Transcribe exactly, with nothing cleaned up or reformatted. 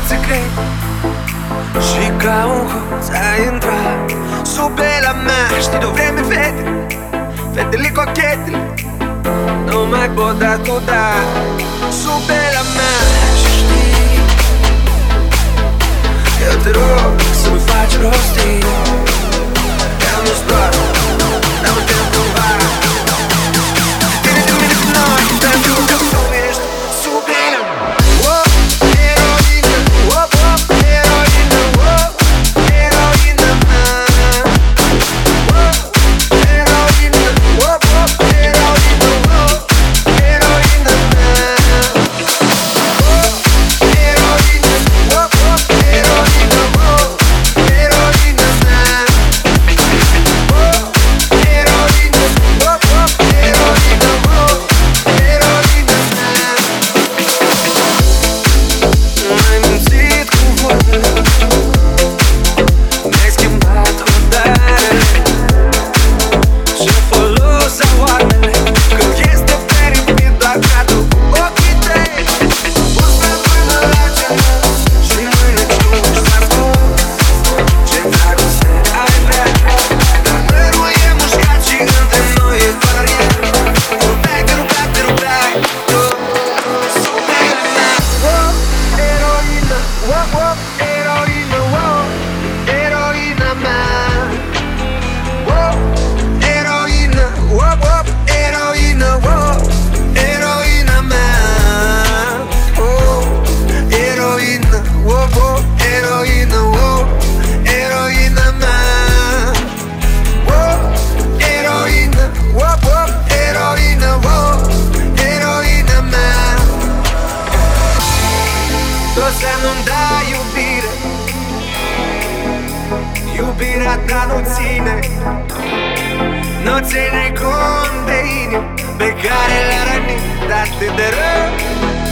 secret și ca un hoț ai intrat sub la mea. Știi de-o vreme fetele, fetele cochetele nu mai pot da cu da sub la mea. Și știi, eu te rog să-mi faci rostii. Eu nu-ți doar, dar mă tem cumva. Tine de mine cu noi, pentru că tu ești sub la mea. Să nu-mi dai iubire, iubirea ta nu ține, nu ține cont de inimi pe care le-a rănit atât de rău.